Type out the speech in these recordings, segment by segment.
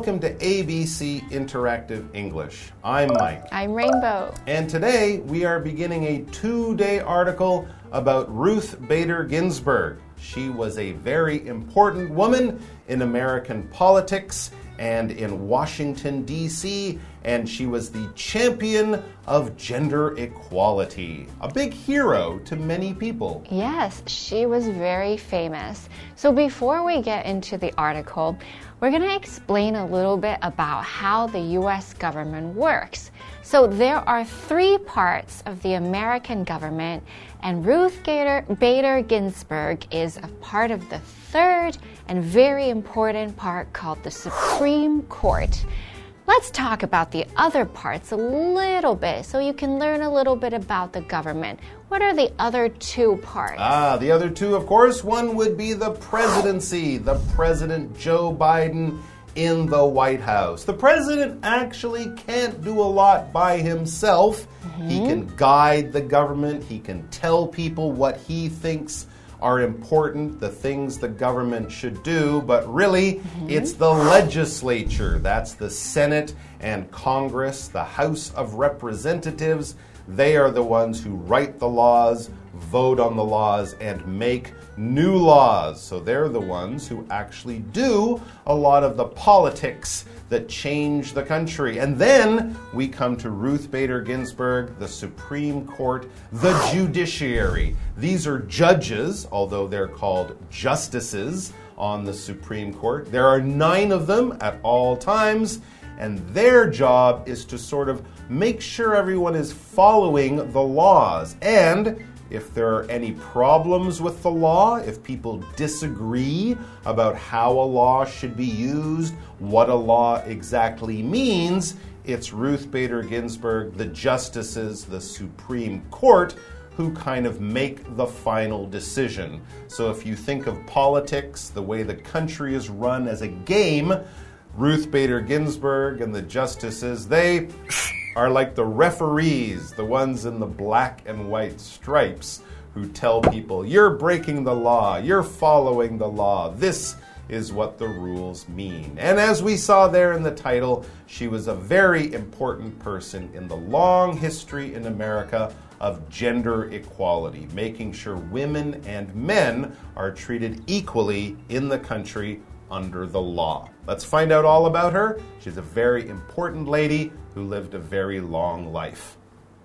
welcome to ABC Interactive English. I'm Mike. I'm Rainbow. And today we are beginning a 2-day article about Ruth Bader Ginsburg. She was a very important woman in American politics and in Washington, D.C., and she was the champion of gender equality. A big hero to many people. Yes, she was very famous. So before we get into the article, we're going to explain a little bit about how the U.S. government works. So there are 3 parts of the American government, and Ruth Bader Ginsburg is a part of the 3rd and very important part called the Supreme Court. Let's talk about the other parts a little bit so you can learn a little bit about the government. What are the other 2 parts? The other 2, of course, one would be the presidency, the President Joe Biden in the White House. The president actually can't do a lot by himself. He can guide the government. He can tell people what he thinks are important, the things the government should do, but really it's the legislature. That's the Senate and Congress, the House of Representatives. They are the ones who write the laws, vote on the laws, and make new laws. So they're the ones who actually do a lot of the politics that change the country. And then we come to Ruth Bader Ginsburg, the Supreme Court, the judiciary. These are judges, although they're called justices on the Supreme Court. There are 9 of them at all times, and their job is to sort of make sure everyone is following the laws. And if there are any problems with the law, if people disagree about how a law should be used, what a law exactly means, it's Ruth Bader Ginsburg, the justices, the Supreme Court, who kind of make the final decision. So if you think of politics, the way the country is run as a game, Ruth Bader Ginsburg and the justices, they are like the referees, the ones in the black and white stripes who tell people, you're breaking the law, you're following the law, this is what the rules mean. And as we saw there in the title, she was a very important person in the long history in America of gender equality, making sure women and men are treated equally in the country under the law. Let's find out all about her. She's a very important lady who lived a very long life.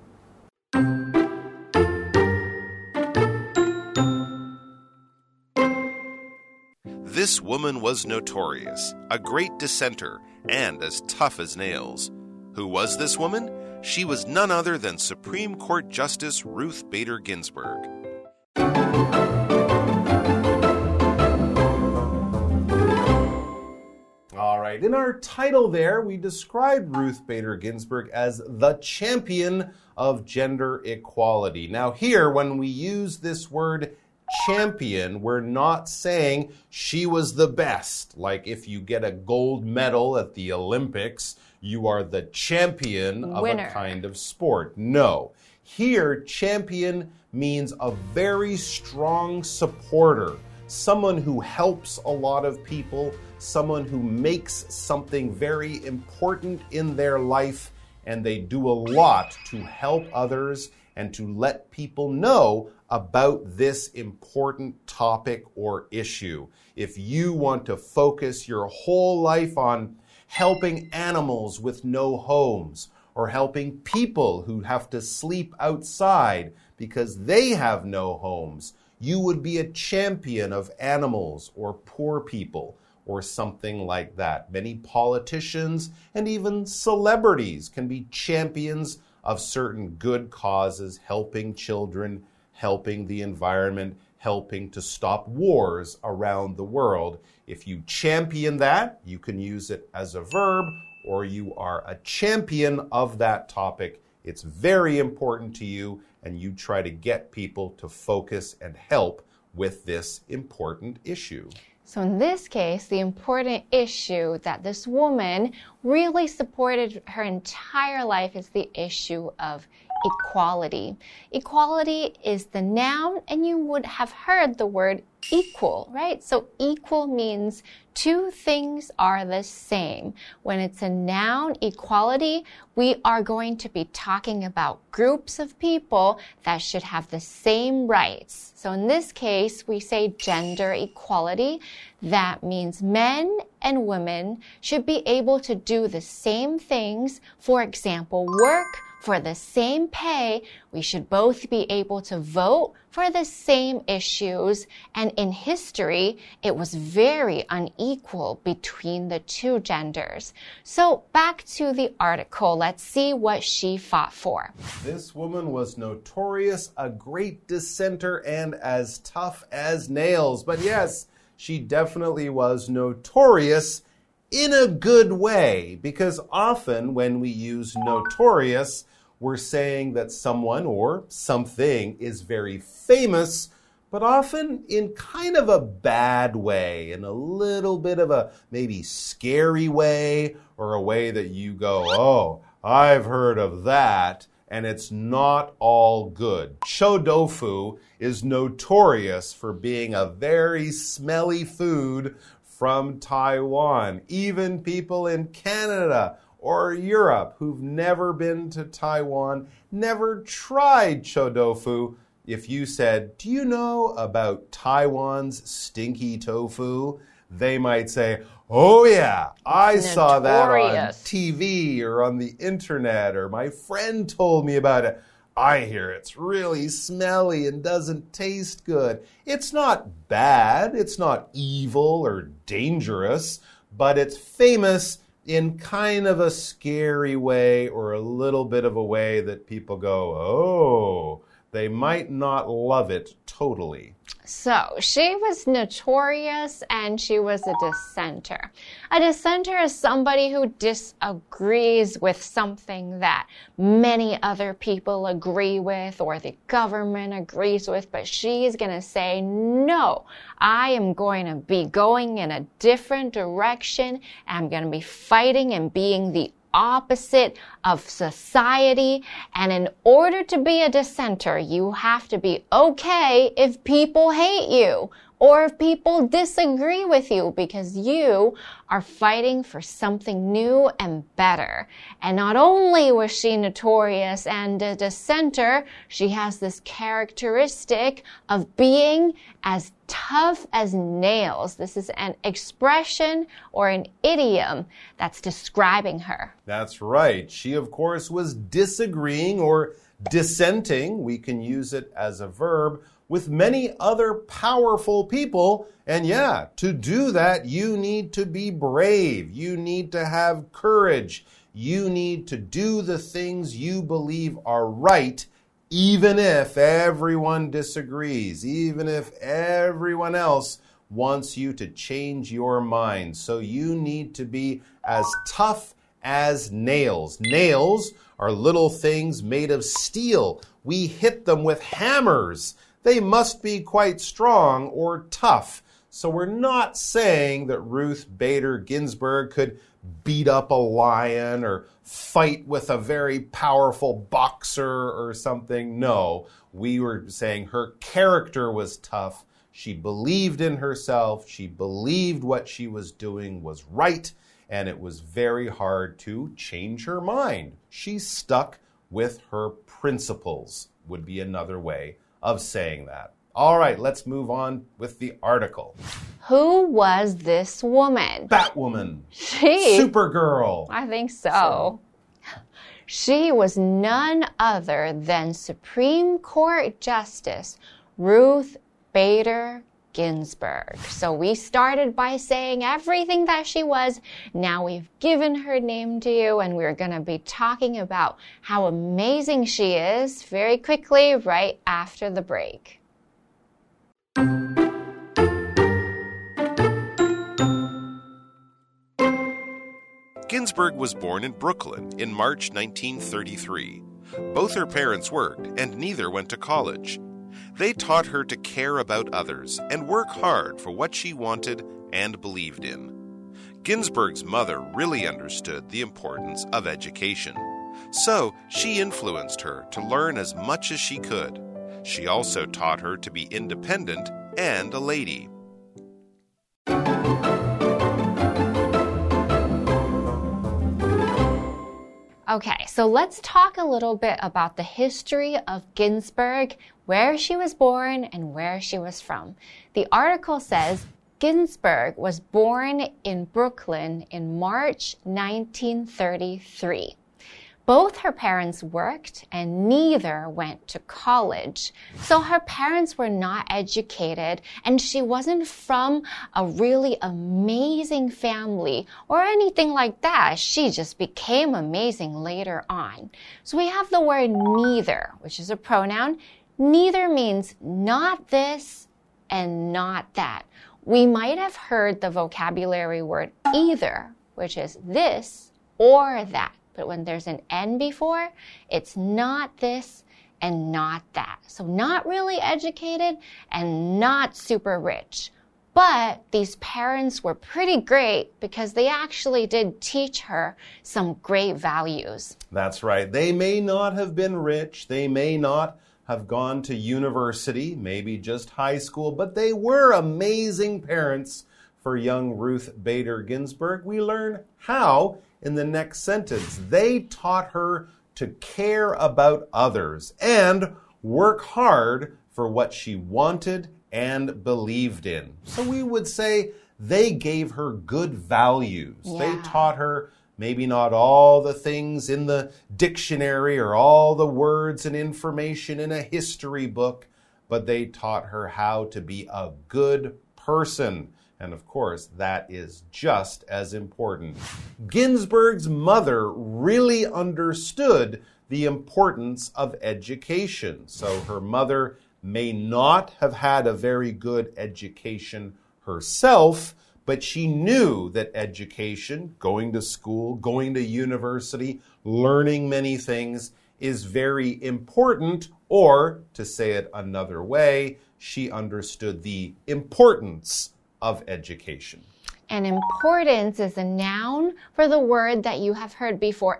This woman was notorious, a great dissenter, and as tough as nails. Who was this woman? She was none other than Supreme Court Justice Ruth Bader Ginsburg. In our title there, we described Ruth Bader Ginsburg as the champion of gender equality. Now here, when we use this word champion, we're not saying she was the best. Like if you get a gold medal at the Olympics, you are the champion of a kind of sport. No. Here, champion means a very strong supporter, someone who helps a lot of people, someone who makes something very important in their life, and they do a lot to help others and to let people know about this important topic or issue. If you want to focus your whole life on helping animals with no homes, or helping people who have to sleep outside because they have no homes, you would be a champion of animals or poor people, or something like that. Many politicians and even celebrities can be champions of certain good causes, helping children, helping the environment, helping to stop wars around the world. If you champion that, you can use it as a verb, or you are a champion of that topic. It's very important to you, and you try to get people to focus and help with this important issue. So in this case, the important issue that this woman really supported her entire life is the issue of equality. Equality is the noun, and you would have heard the word equal, right? So equal means two things are the same. When it's a noun, equality, we are going to be talking about groups of people that should have the same rights. So in this case, we say gender equality. That means men and women should be able to do the same things. For example, work for the same pay. We should both be able to vote for the same issues. And in history, it was very unequal between the two genders. So back to the article. Let's see what she fought for. This woman was notorious, a great dissenter, and as tough as nails. But yes, she definitely was notorious in a good way, because often when we use notorious, we're saying that someone or something is very famous, but often in kind of a bad way, in a little bit of a maybe scary way, or a way that you go, oh, I've heard of that, and it's not all good. Chou tofu is notorious for being a very smelly food from Taiwan. Even people in Canada or Europe who've never been to Taiwan, never tried chou tofu. If you said, do you know about Taiwan's stinky tofu? They might say, oh yeah, I saw that on TV or on the internet, or my friend told me about it. I hear it's really smelly and doesn't taste good. It's not bad, it's not evil or dangerous, but it's famous in kind of a scary way, or a little bit of a way that people go, oh, they might not love it totally. So, she was notorious and she was a dissenter. A dissenter is somebody who disagrees with something that many other people agree with or the government agrees with, but she's going to say, no, I am going to be going in a different direction. I'm going to be fighting and being the opposite of society. And in order to be a dissenter, you have to be okay if people hate you or if people disagree with you, because you are fighting for something new and better. And not only was she notorious and a dissenter, she has this characteristic of being as tough as nails. This is an expression or an idiom that's describing her. That's right. She, of course, was disagreeing or dissenting. We can use it as a verb with many other powerful people. And yeah, to do that, you need to be brave. You need to have courage. You need to do the things you believe are right, even if everyone disagrees, even if everyone else wants you to change your mind. So you need to be as tough as nails. Nails are little things made of steel. We hit them with hammers. They must be quite strong or tough. So we're not saying that Ruth Bader Ginsburg could beat up a lion or fight with a very powerful boxer or something. No, we were saying her character was tough. She believed in herself. She believed what she was doing was right, and it was very hard to change her mind. She stuck with her principles, would be another way of saying that. All right, let's move on with the article. Who was this woman? Batwoman. Supergirl. I think so. She was none other than Supreme Court Justice Ruth Bader Ginsburg. So we started by saying everything that she was. Now we've given her name to you, and we're going to be talking about how amazing she is very quickly right after the break. Ginsburg was born in Brooklyn in March 1933. Both her parents worked, and neither went to college. They taught her to care about others and work hard for what she wanted and believed in. Ginsburg's mother really understood the importance of education. So she influenced her to learn as much as she could. She also taught her to be independent and a lady. Okay, so let's talk a little bit about the history of Ginsburg, where she was born and where she was from. The article says Ginsburg was born in Brooklyn in March 1933. Both her parents worked and neither went to college. So her parents were not educated and she wasn't from a really amazing family or anything like that. She just became amazing later on. So we have the word neither, which is a pronoun. Neither means not this and not that. We might have heard the vocabulary word either, which is this or that. But when there's an N before, it's not this and not that. So not really educated and not super rich. But these parents were pretty great because they actually did teach her some great values. That's right. They may not have been rich. They may not have gone to university, maybe just high school, but they were amazing parents for young Ruth Bader Ginsburg. We learn how in the next sentence. They taught her to care about others and work hard for what she wanted and believed in. So we would say they gave her good values. Yeah. They taught her maybe not all the things in the dictionary or all the words and information in a history book, but they taught her how to be a good person. And of course, that is just as important. Ginsburg's mother really understood the importance of education. So her mother may not have had a very good education herself, but she knew that education, going to school, going to university, learning many things is very important, or to say it another way, she understood the importance of education. And importance is a noun for the word that you have heard before,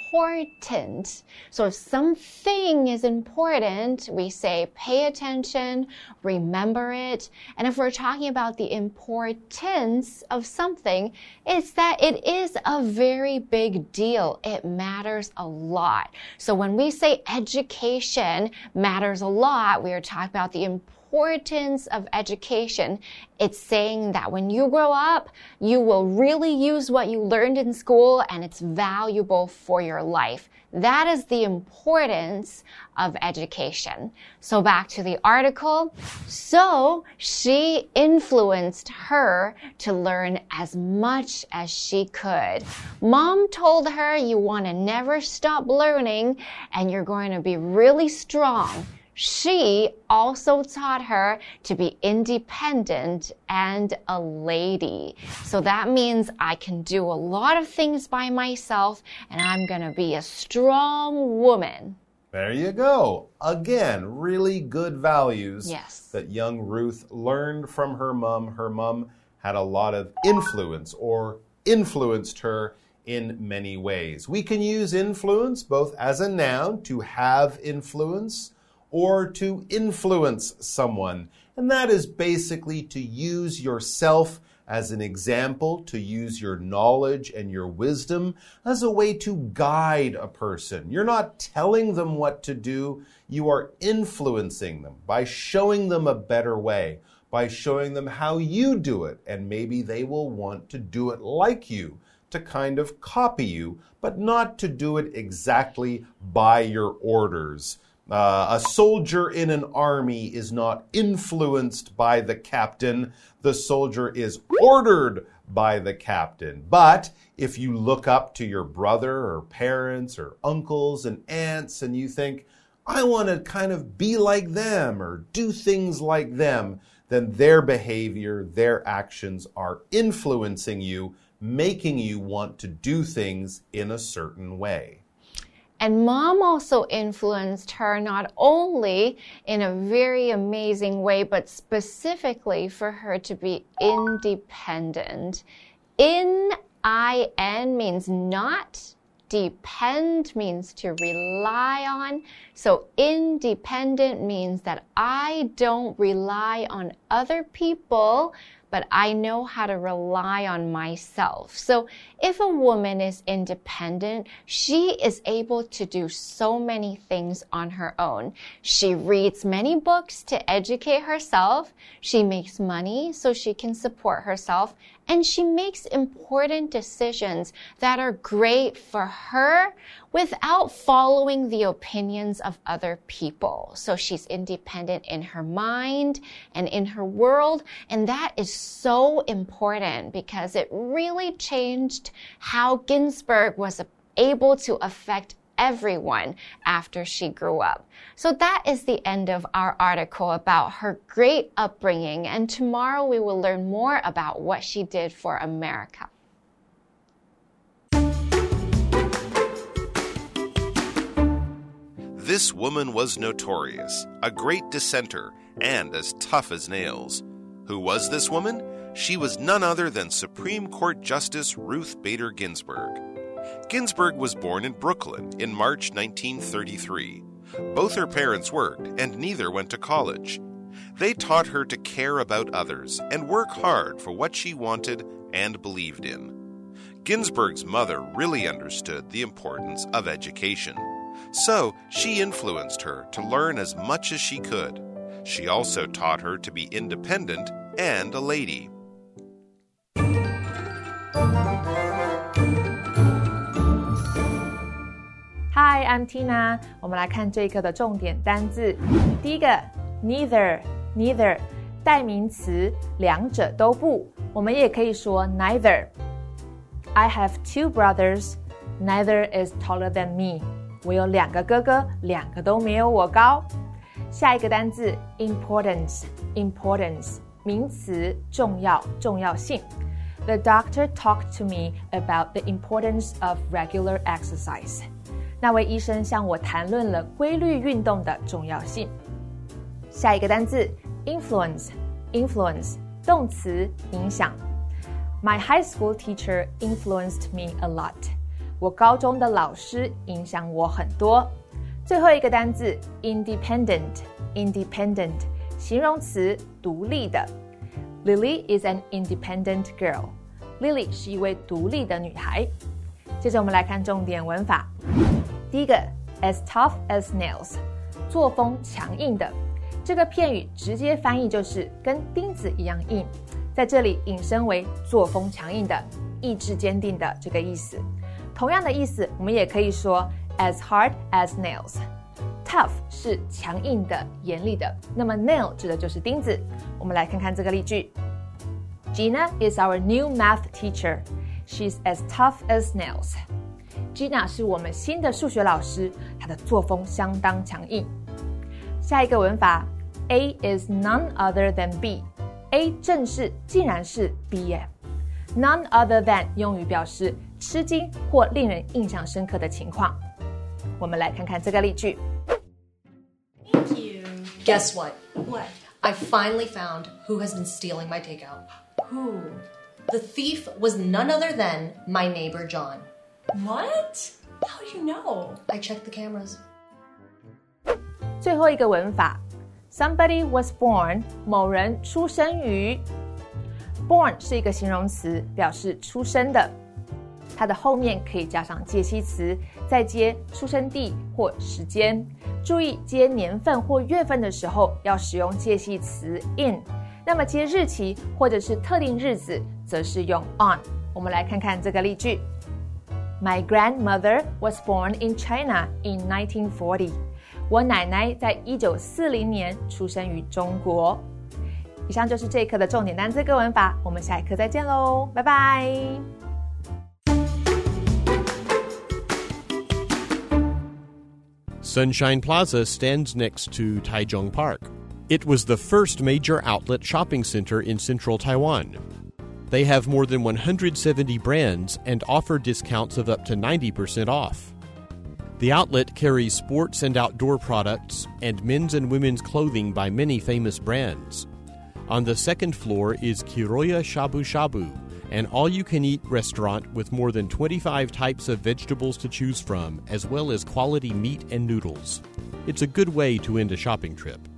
important. So if something is important, we say pay attention, remember it. And if we're talking about the importance of something, it's that it is a very big deal. It matters a lot. So when we say education matters a lot, we are talking about the importance of education. It's saying that when you grow up, you will really use what you learned in school and it's valuable for your life. That is the importance of education. So back to the article. So she influenced her to learn as much as she could. Mom told her you want to never stop learning and you're going to be really strong. She also taught her to be independent and a lady. So that means I can do a lot of things by myself and I'm going to be a strong woman. There you go. Again, really good values that young Ruth learned from her mom. Her mom had a lot of influence or influenced her in many ways. We can use influence both as a noun, to have influence, or to influence someone. And that is basically to use yourself as an example, to use your knowledge and your wisdom as a way to guide a person. You're not telling them what to do, you are influencing them by showing them a better way, by showing them how you do it, and maybe they will want to do it like you, to kind of copy you, but not to do it exactly by your orders. A soldier in an army is not influenced by the captain. The soldier is ordered by the captain. But if you look up to your brother or parents or uncles and aunts and you think, I want to kind of be like them or do things like them, then their behavior, their actions are influencing you, making you want to do things in a certain way. And mom also influenced her not only in a very amazing way, but specifically for her to be independent. In-I-N means not, Depend means to rely on. So independent means that I don't rely on other people, but I know how to rely on myself. So if a woman is independent, she is able to do so many things on her own. She reads many books to educate herself. She makes money so she can support herself. And she makes important decisions that are great for her without following the opinions of other people. So she's independent in her mind and in her world. And that is so important because it really changed how Ginsburg was able to affect everyone after she grew up. So that is the end of our article about her great upbringing, and tomorrow we will learn more about what she did for America. This woman was notorious, a great dissenter, and as tough as nails. Who was this woman? She was none other than Supreme Court Justice Ruth Bader Ginsburg. Ginsburg was born in Brooklyn in March 1933. Both her parents worked, and neither went to college. They taught her to care about others and work hard for what she wanted and believed in. Ginsburg's mother really understood the importance of education. So she influenced her to learn as much as she could. She also taught her to be independent and a lady. Hi, I'm Tina. 我們來看這一課的重點單字。第一個 neither 代名詞，兩者都不。我們也可以說 neither. I have two brothers. Neither is taller than me. 我有兩個哥哥，兩個都沒有我高。下一個單字 importance 名詞，重要，重要性。The doctor talked to me about the importance of regular exercise. 那位醫生向我談論了規律運動的重要性。下一個單字 influence 動詞，影響。My high school teacher influenced me a lot. 我高中的老師影響我很多。最後一個單字 independent 形容詞，獨立的。Lily is an independent girl. Lily 是一位獨立的女孩。接着我們來看重點文法。第一個 as tough as nails 作風強硬的，這個片語直接翻譯就是跟釘子一樣硬，在這裡引申為作風強硬的，意志堅定的這個意思。同樣的意思我們也可以說 as hard as nails。 Tough 是強硬的，嚴厲的，那麼 nail 指的就是釘子。我們來看看這個例句。 Gina is our new math teacher. She's as tough as nails. Gina 是我們新的數學老師，她的作風相當強硬。下一個文法 A is none other than B. A 正式竟然是 B 耶。None other than 用於表示吃驚或令人印象深刻的情況。我們來看看這個例句。 Thank you. Guess what? What? I finally found who has been stealing my takeout. Who? The thief was none other than my neighbor John. What? How do you know? I checked the cameras. 最後一個文法 Somebody was born 某人出生於 Born 是一個形容詞，表示出生的，它的後面可以加上介系詞，再接出生地或時間。注意接年份或月份的時候要使用介系詞 in， 那麼接日期或者是特定日子則是用 on。 我們來看看這個例句。 My grandmother was born in China in 1940. 我奶奶在1940年出生於中國。以上就是這一課的重點單字跟文法，我們下一課再見嘍，拜拜。 Sunshine Plaza stands next to Taichung Park. It was the first major outlet shopping center in central Taiwan. They have more than 170 brands and offer discounts of up to 90% off. The outlet carries sports and outdoor products and men's and women's clothing by many famous brands. On the second floor is Kiroya Shabu Shabu, an all-you-can-eat restaurant with more than 25 types of vegetables to choose from, as well as quality meat and noodles. It's a good way to end a shopping trip.